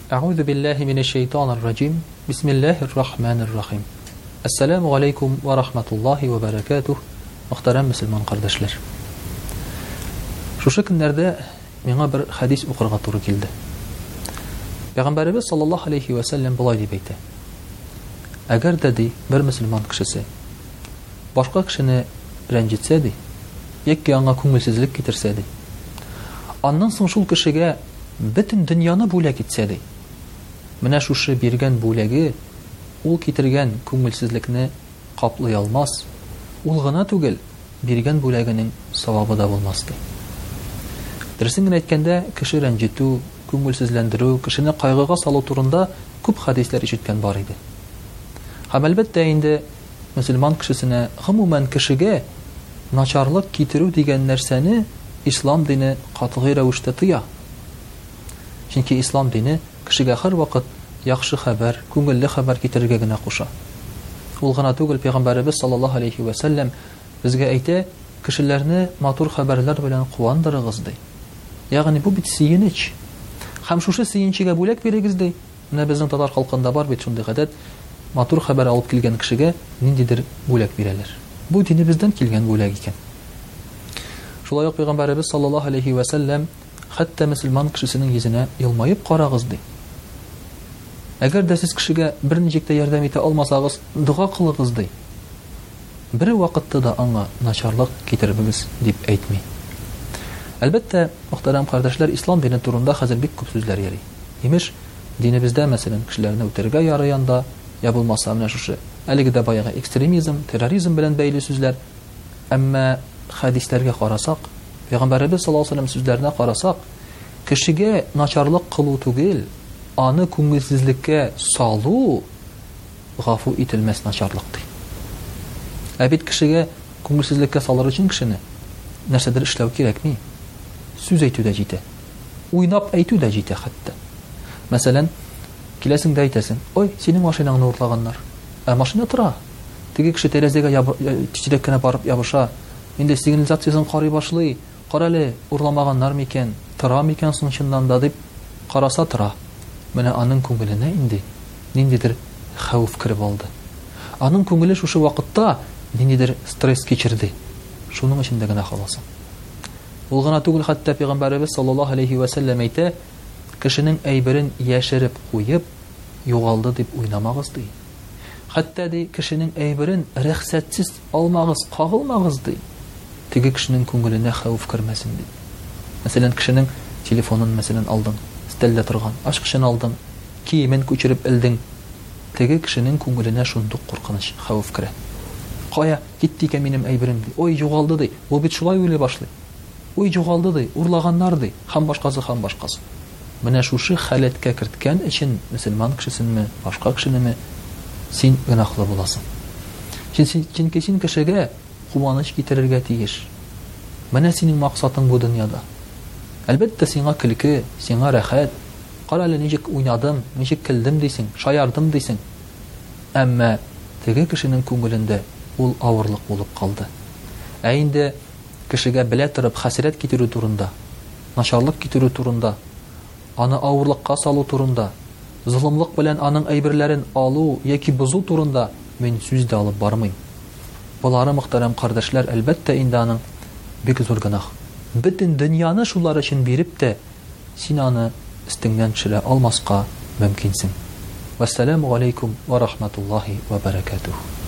أعوذ بالله من الشيطان الرجيم بسم الله الرحمن الرحيم السلام عليكم ورحمة الله وبركاته Muhterem Müslüman kardeşler. Şu günlerde bana bir hadis okurga туры келді. Peygamberimiz sallallahu aleyhi ve sellem bulay deyip aytты. Agar dedi bir Müslüman kişisi başka kişini rencitseydi, яки аңа күңелсезлек китерсәди, аннан соң шул кешегә бөтен дөньяны бүләк итсәди, менә шушы биргән бүләге ул китергән күңелсезлекне каплый алмас, ул гына түгел, биргән бүләгенең савабы да булмас ди. Дөресен генә әйткәндә, кеше рәнҗетү, күңелсезләндерү, кешене кайгыга салу турында күп хадисләр ишеткән бар иде. Һәм әлбәттә инде мөселман кешесенә, гомумән кешегә начарлык китерү дигән нәрсәне ислам дине катгый рәвештә тыя. Чөнки ислам дине кешегә һәр вакыт яхшы хәбәр, күңелле хәбәр китерергә генә куша. Ул гына түгел, Пәйгамбәрбез саллаллаһу алейхи ва саллям безгә әйтә, кешеләрне матур хәбәрләр белән куандырыгыз ди. Ягъни бу бит сөенеч. Һәм шушы сөенчегә бүләк бирегез ди. Менә безнең татар халкында бар бит шундый гадәт, матур хәбәр алып килгән кешегә ниндидер бүләк бирәләр. Бу динебездән килгән бүләк икән. Шулай ук Пәйгамбәрбез саллаллаһу алейхи ва саллям хәтта мөселман кешесенең йөзенә елмаеп карагыз ди. Әгәр дә сез кешегә берничек тә ярдәм итә алмасагыз, дуга кылыгыз ди. Бер вакытта да аңа начарлык китербегез дип әйтми. Әлбәттә, мөхтәрәм кардәшләр, ислам дине турында хәзер бик күп сүзләр йөри. Имеш, динебездә мәсәлән кешеләрне үтерергә ярыянда, я булмаса менә шушы әлеге дә баягы экстремизм, терроризм белән бәйле сүзләр. Әмма хадисләргә карасак, Пәйгамбәрбез саллаллаһу алейхи ва саллям сүзләренә карасак, кешегә начарлык кылу түгел, аны күңелсезлеккә салу гафу ителмәс начарлык ди. Ә бит кешегә күңелсезлеккә салыр өчен кешене нәрсәдер эшләү кирәкми. Сүз әйтү дә җитә. Уйнап әйтү дә җитә хәтта. Мәсәлән, киләсең дә әйтәсең: "Ой, синең машинаңны урлаганнар." Ә машина тора. Теге кеше тәрәзәгә тизрәк кенә барып ябыша. Инде сигнализациясын карый башлый. Карале, урламаганнар микән? Тора микән соң чыннан да дип караса тора. Менә аның күңеленә инде ниндидер хәвеф киреп алды. Аның күңеле шушы вакытта ниндидер стресс кичерде. Шуның өчен дә генә халасы. Ул гына түгел, хәтта Пәйгамбәрбез саллаллаһу алейхи ва саллям әйтә, кешенең әйберен яшереп куеп, югалды дип уйнамагыз ди. Хәтта ди кешенең әйберен рөхсәтсез алмагыз, кагылмагыз ди. Теге кешенең күңеленә хәвеф кирмәсен ди. Мәсәлән, кешенең телефонын мәсәлән алдың, стеллә торган, ашкычын алдың, киемен күчереп элдең. Теге кешенең күңеленә шундук куркыныч, хәвеф кирә. Кая китте икән минем әйберем ди. Ой, югалды ди. Ул бит шулай уйлый башлый. Ой, югалды ди, урлаганнар ди. Һәм башкасы, һәм башкасы. Менә шушы халәткә керткән өчен мөселман кешесенме, башка кешенеме син гынахлы буласың. Чөнки син кешегә куаныч китерергә тиеш. Менә синең максатың бу дөньяда. Әлбәттә, сиңа көлке, сиңа рәхәт. Кара әле ничек уйнадым, ничек көлдем дисең, шаярдым дисең. Әмма теге кешенең күңелендә ул авырлык булып калды. Ә инде кешегә белә торып хәсрәт китерү турында, начарлык китерү турында, аны авырлыкка салу турында, зулымлык белән аның әйберләрен алу яки бозу турында мин сүз дә алып бармыйм. Булары мөхтәрәм кардәшләр, әлбәттә инде аның бик зур гынах. Бөтен дөньяны шулар өчен биреп тә син аны өстеңнән төшерә алмаска мөмкинсең. Вассаламу алейкум ва рахматуллаһи ва баракатуһ.